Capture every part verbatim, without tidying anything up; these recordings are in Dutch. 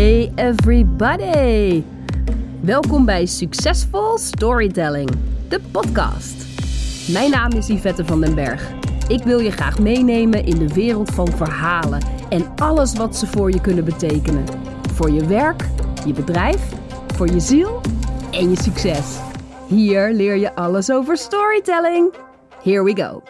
Hey everybody! Welkom bij Succesvol Storytelling, de podcast. Mijn naam is Yvette van den Berg. Ik wil je graag meenemen in de wereld van verhalen en alles wat ze voor je kunnen betekenen. Voor je werk, je bedrijf, voor je ziel en je succes. Hier leer je alles over storytelling. Here we go!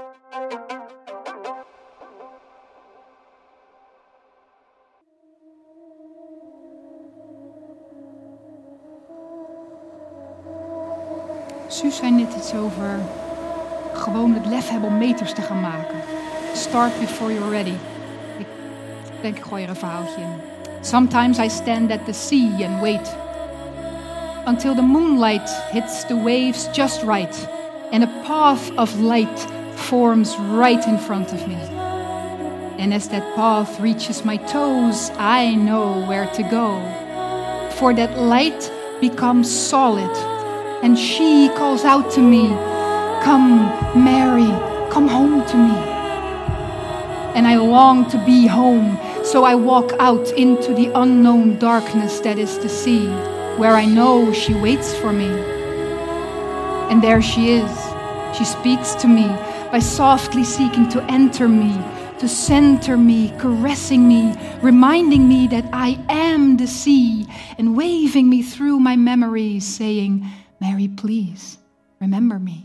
Suus zei net iets over gewoon het lef hebben om meters te gaan maken. Start before you're ready. Ik denk, ik gooi er een verhaaltje in. Sometimes I stand at the sea and wait until the moonlight hits the waves just right and a path of light forms right in front of me. And as that path reaches my toes, I know where to go. For that light becomes solid. And she calls out to me, "Come, Mary, come home to me." And I long to be home, so I walk out into the unknown darkness that is the sea, where I know she waits for me. And there she is. She speaks to me by softly seeking to enter me, to center me, caressing me, reminding me that I am the sea, and waving me through my memories, saying, "Mary, please, remember me."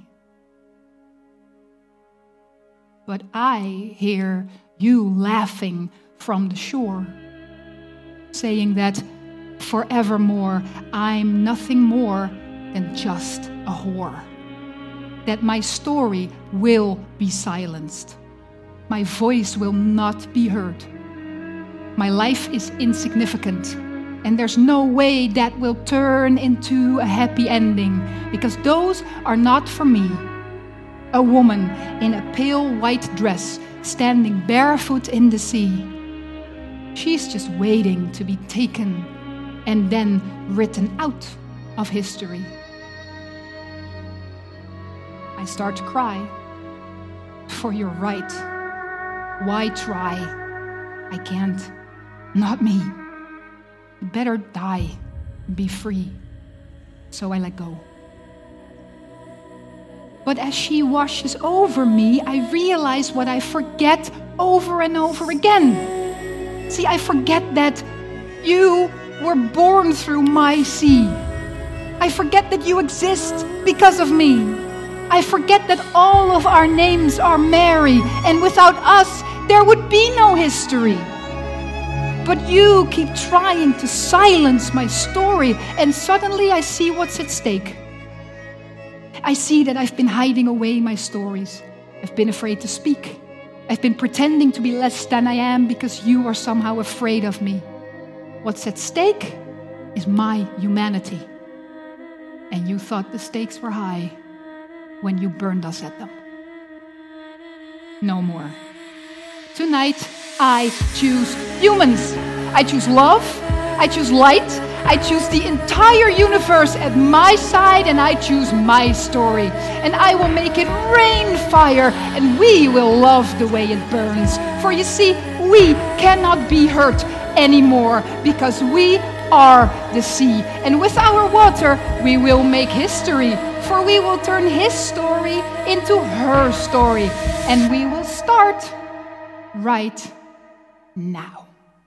But I hear you laughing from the shore, saying that forevermore I'm nothing more than just a whore. That my story will be silenced. My voice will not be heard. My life is insignificant. And there's no way that will turn into a happy ending, because those are not for me. A woman in a pale white dress, standing barefoot in the sea. She's just waiting to be taken and then written out of history. I start to cry. For you're right. Why try? I can't. Not me. Better die, be free. So I let go. But as she washes over me, I realize what I forget over and over again. See, I forget that you were born through my sea. I forget that you exist because of me. I forget that all of our names are Mary, and without us, there would be no history. But you keep trying to silence my story, and suddenly I see what's at stake. I see that I've been hiding away my stories. I've been afraid to speak. I've been pretending to be less than I am because you are somehow afraid of me. What's at stake is my humanity. And you thought the stakes were high when you burned us at them. No more. Tonight, I choose humans. I choose love. I choose light. I choose the entire universe at my side, and I choose my story. And I will make it rain fire, and we will love the way it burns. For you see, we cannot be hurt anymore, because we are the sea. And with our water, we will make history. For we will turn his story into her story. And we will start right now.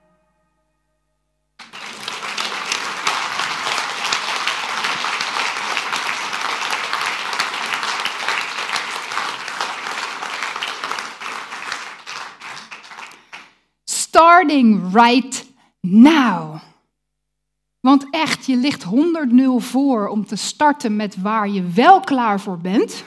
Starting right now. Want echt, je ligt honderd nul voor om te starten met waar je wel klaar voor bent,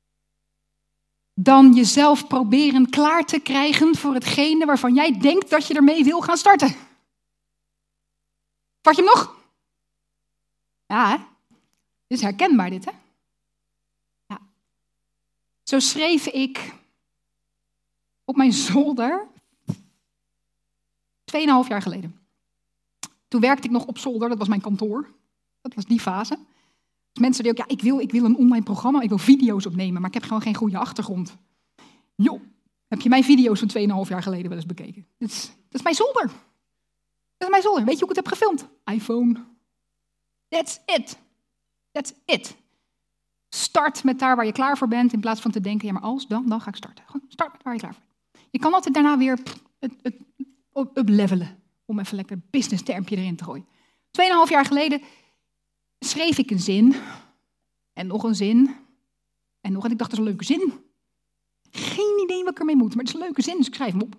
dan jezelf proberen klaar te krijgen voor hetgene waarvan jij denkt dat je ermee wil gaan starten. Vat je hem nog? Ja, hè? Dit is herkenbaar dit, hè? Ja. Zo schreef ik op mijn zolder tweeënhalf jaar geleden. Toen werkte ik nog op zolder, dat was mijn kantoor. Dat was die fase. Dus mensen die ook, ja, ik wil, ik wil een online programma, ik wil video's opnemen, maar ik heb gewoon geen goede achtergrond. Joh, heb je mijn video's van tweeënhalf jaar geleden wel eens bekeken? Dat is, dat is mijn zolder. Dat Dat is mijn zolder. Weet je hoe ik het heb gefilmd? iPhone. That's it. That's it. Start met daar waar je klaar voor bent, in plaats van te denken, ja, maar als, dan, dan ga ik starten. Gewoon start met waar je klaar voor bent. Je kan altijd daarna weer pff, het, het uplevelen, om even lekker een business termpje erin te gooien. Tweeënhalf jaar geleden schreef ik een zin, en nog een zin, en nog, en ik dacht, dat is een leuke zin. Geen idee wat ik ermee moet, maar het is een leuke zin, dus ik schrijf hem op.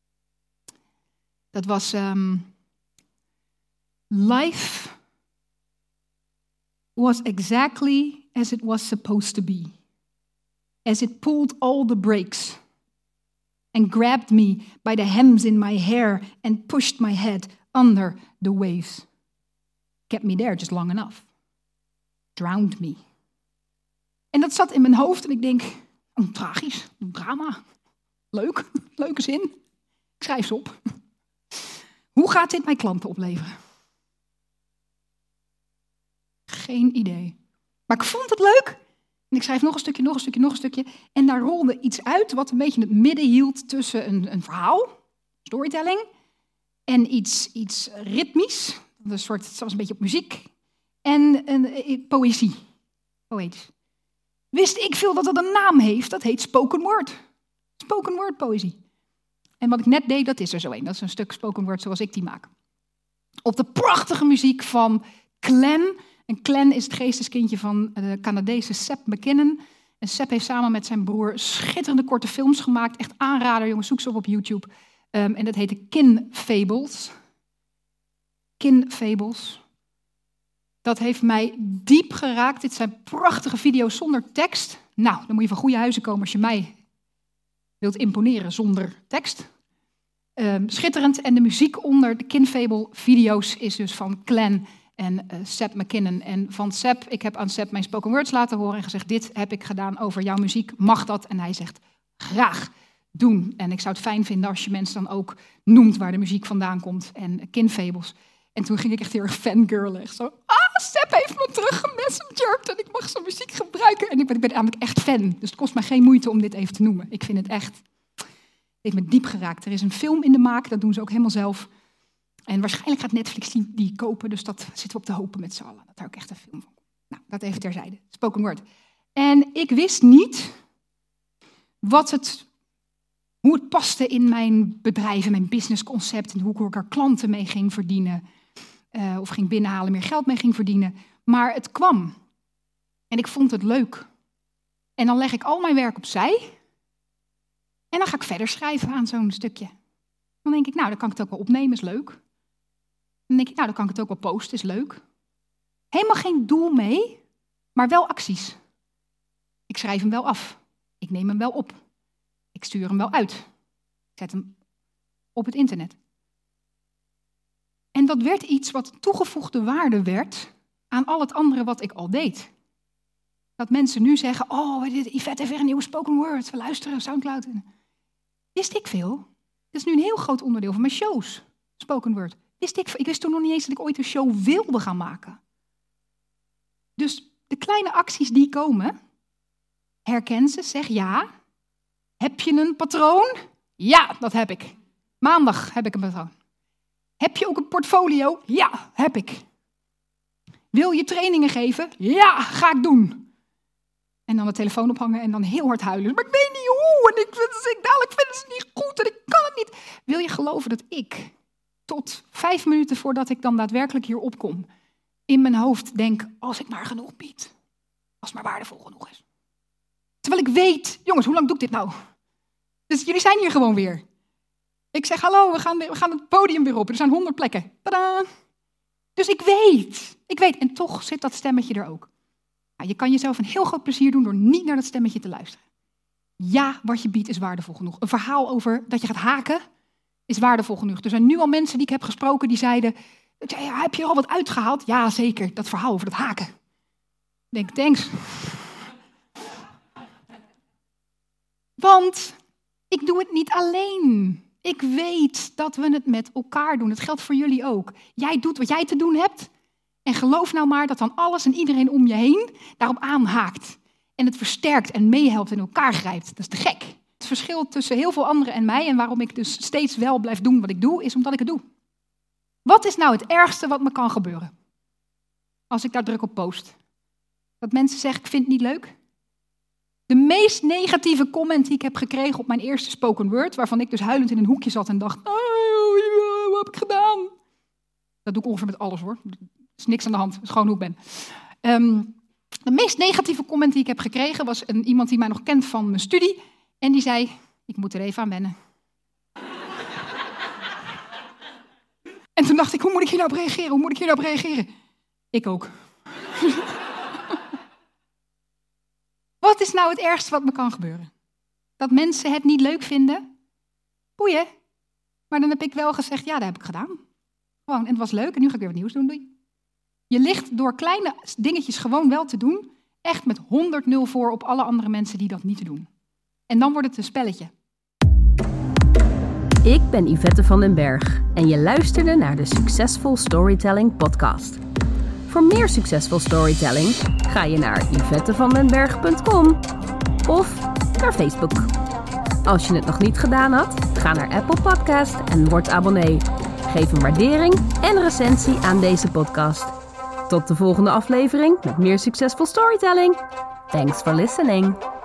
Dat was, um, life was exactly as it was supposed to be, as it pulled all the brakes and grabbed me by the hems in my hair and pushed my head under the waves. Kept me there just long enough. Drowned me. En dat zat in mijn hoofd en ik denk, oh, tragisch, een drama. Leuk, leuke zin. Ik schrijf ze op. Hoe gaat dit mijn klanten opleveren? Geen idee. Maar ik vond het leuk. En ik schrijf nog een stukje, nog een stukje, nog een stukje. En daar rolde iets uit wat een beetje het midden hield tussen een, een verhaal, storytelling, en iets, iets ritmisch. Een soort, het was een beetje op muziek. En een, een, poëzie. Poëtisch. Wist ik veel dat het een naam heeft? Dat heet spoken word. Spoken word poëzie. En wat ik net deed, dat is er zo een. Dat is een stuk spoken word zoals ik die maak. Op de prachtige muziek van Clan. En Clan is het geesteskindje van de Canadese Seb McKinnon. En Seb heeft samen met zijn broer schitterende korte films gemaakt. Echt aanrader, jongens, zoek ze op op YouTube. Um, en dat heette Kin Fables. Kin Fables. Dat heeft mij diep geraakt. Dit zijn prachtige video's zonder tekst. Nou, dan moet je van goede huizen komen als je mij wilt imponeren zonder tekst. Um, schitterend. En de muziek onder de Kin Fable video's is dus van Clan en uh, Seb McKinnon. En van Seb, ik heb aan Seb mijn spoken words laten horen en gezegd, dit heb ik gedaan over jouw muziek, mag dat? En hij zegt, graag doen. En ik zou het fijn vinden als je mensen dan ook noemt waar de muziek vandaan komt. En uh, Kin Fables. En toen ging ik echt heel erg fangirlen. Echt zo, ah, Seb heeft me terug gemessengerd en ik mag zijn muziek gebruiken. En ik ben, ik ben namelijk echt fan. Dus het kost mij geen moeite om dit even te noemen. Ik vind het echt, het heeft me diep geraakt. Er is een film in de maak, dat doen ze ook helemaal zelf. En waarschijnlijk gaat Netflix die, die kopen, dus dat zitten we op te hopen met z'n allen. Dat daar ook echt een film van komt. Nou, dat even terzijde. Spoken word. En ik wist niet wat het, hoe het paste in mijn bedrijf, in mijn businessconcept en hoe ik er klanten mee ging verdienen. Uh, of ging binnenhalen, meer geld mee ging verdienen. Maar het kwam. En ik vond het leuk. En dan leg ik al mijn werk opzij. En dan ga ik verder schrijven aan zo'n stukje. Dan denk ik, nou, dan kan ik het ook wel opnemen, is leuk. Dan denk ik, nou, dan kan ik het ook wel posten, is leuk. Helemaal geen doel mee, maar wel acties. Ik schrijf hem wel af. Ik neem hem wel op. Ik stuur hem wel uit. Ik zet hem op het internet. En dat werd iets wat toegevoegde waarde werd aan al het andere wat ik al deed. Dat mensen nu zeggen, oh, Yvette heeft weer een nieuwe spoken word. We luisteren, Soundcloud. Wist ik veel. Dat is nu een heel groot onderdeel van mijn shows. Spoken word. Wist ik, ik wist toen nog niet eens dat ik ooit een show wilde gaan maken. Dus de kleine acties die komen, herken ze, zeg ja. Heb je een patroon? Ja, dat heb ik. Maandag heb ik een patroon. Heb je ook een portfolio? Ja, heb ik. Wil je trainingen geven? Ja, ga ik doen. En dan de telefoon ophangen en dan heel hard huilen. Maar ik weet niet hoe en ik, ik, dadelijk vinden ze het niet goed en ik kan het niet. Wil je geloven dat ik tot vijf minuten voordat ik dan daadwerkelijk hier opkom, in mijn hoofd denk, als ik maar genoeg bied. Als het maar waardevol genoeg is. Terwijl ik weet, jongens, hoe lang doe ik dit nou? Dus jullie zijn hier gewoon weer. Ik zeg, hallo, we gaan, we gaan het podium weer op. Er zijn honderd plekken. Tadaa! Dus ik weet, ik weet. En toch zit dat stemmetje er ook. Nou, je kan jezelf een heel groot plezier doen door niet naar dat stemmetje te luisteren. Ja, wat je biedt is waardevol genoeg. Een verhaal over dat je gaat haken is waardevol genoeg. Er zijn nu al mensen die ik heb gesproken die zeiden, ja, heb je er al wat uitgehaald? Ja, zeker. Dat verhaal over dat haken. Ik denk, thanks. Want ik doe het niet alleen. Ik weet dat we het met elkaar doen. Dat geldt voor jullie ook. Jij doet wat jij te doen hebt. En geloof nou maar dat dan alles en iedereen om je heen daarop aanhaakt. En het versterkt en meehelpt en in elkaar grijpt. Dat is te gek. Het verschil tussen heel veel anderen en mij en waarom ik dus steeds wel blijf doen wat ik doe, is omdat ik het doe. Wat is nou het ergste wat me kan gebeuren? Als ik daar druk op post. Dat mensen zeggen, ik vind het niet leuk. De meest negatieve comment die ik heb gekregen op mijn eerste spoken word, waarvan ik dus huilend in een hoekje zat en dacht, oh, wat heb ik gedaan? Dat doe ik ongeveer met alles hoor. Er is niks aan de hand, het is gewoon hoe ik ben. Um, de meest negatieve comment die ik heb gekregen was een, iemand die mij nog kent van mijn studie. En die zei, ik moet er even aan wennen. En toen dacht ik, hoe moet ik hier nou op reageren? Hoe moet ik hier nou op reageren? Ik ook. Wat is nou het ergste wat me kan gebeuren? Dat mensen het niet leuk vinden? Boeien. Maar dan heb ik wel gezegd, ja, dat heb ik gedaan. Gewoon, en het was leuk en nu ga ik weer wat nieuws doen. Doei. Je ligt door kleine dingetjes gewoon wel te doen, echt met honderd nul voor op alle andere mensen die dat niet doen. En dan wordt het een spelletje. Ik ben Yvette van den Berg en je luisterde naar de Successful Storytelling podcast. Voor meer succesvol storytelling ga je naar yvette van den berg punt com of naar Facebook. Als je het nog niet gedaan had, ga naar Apple Podcast en word abonnee. Geef een waardering en recensie aan deze podcast. Tot de volgende aflevering met meer succesvol storytelling. Thanks for listening.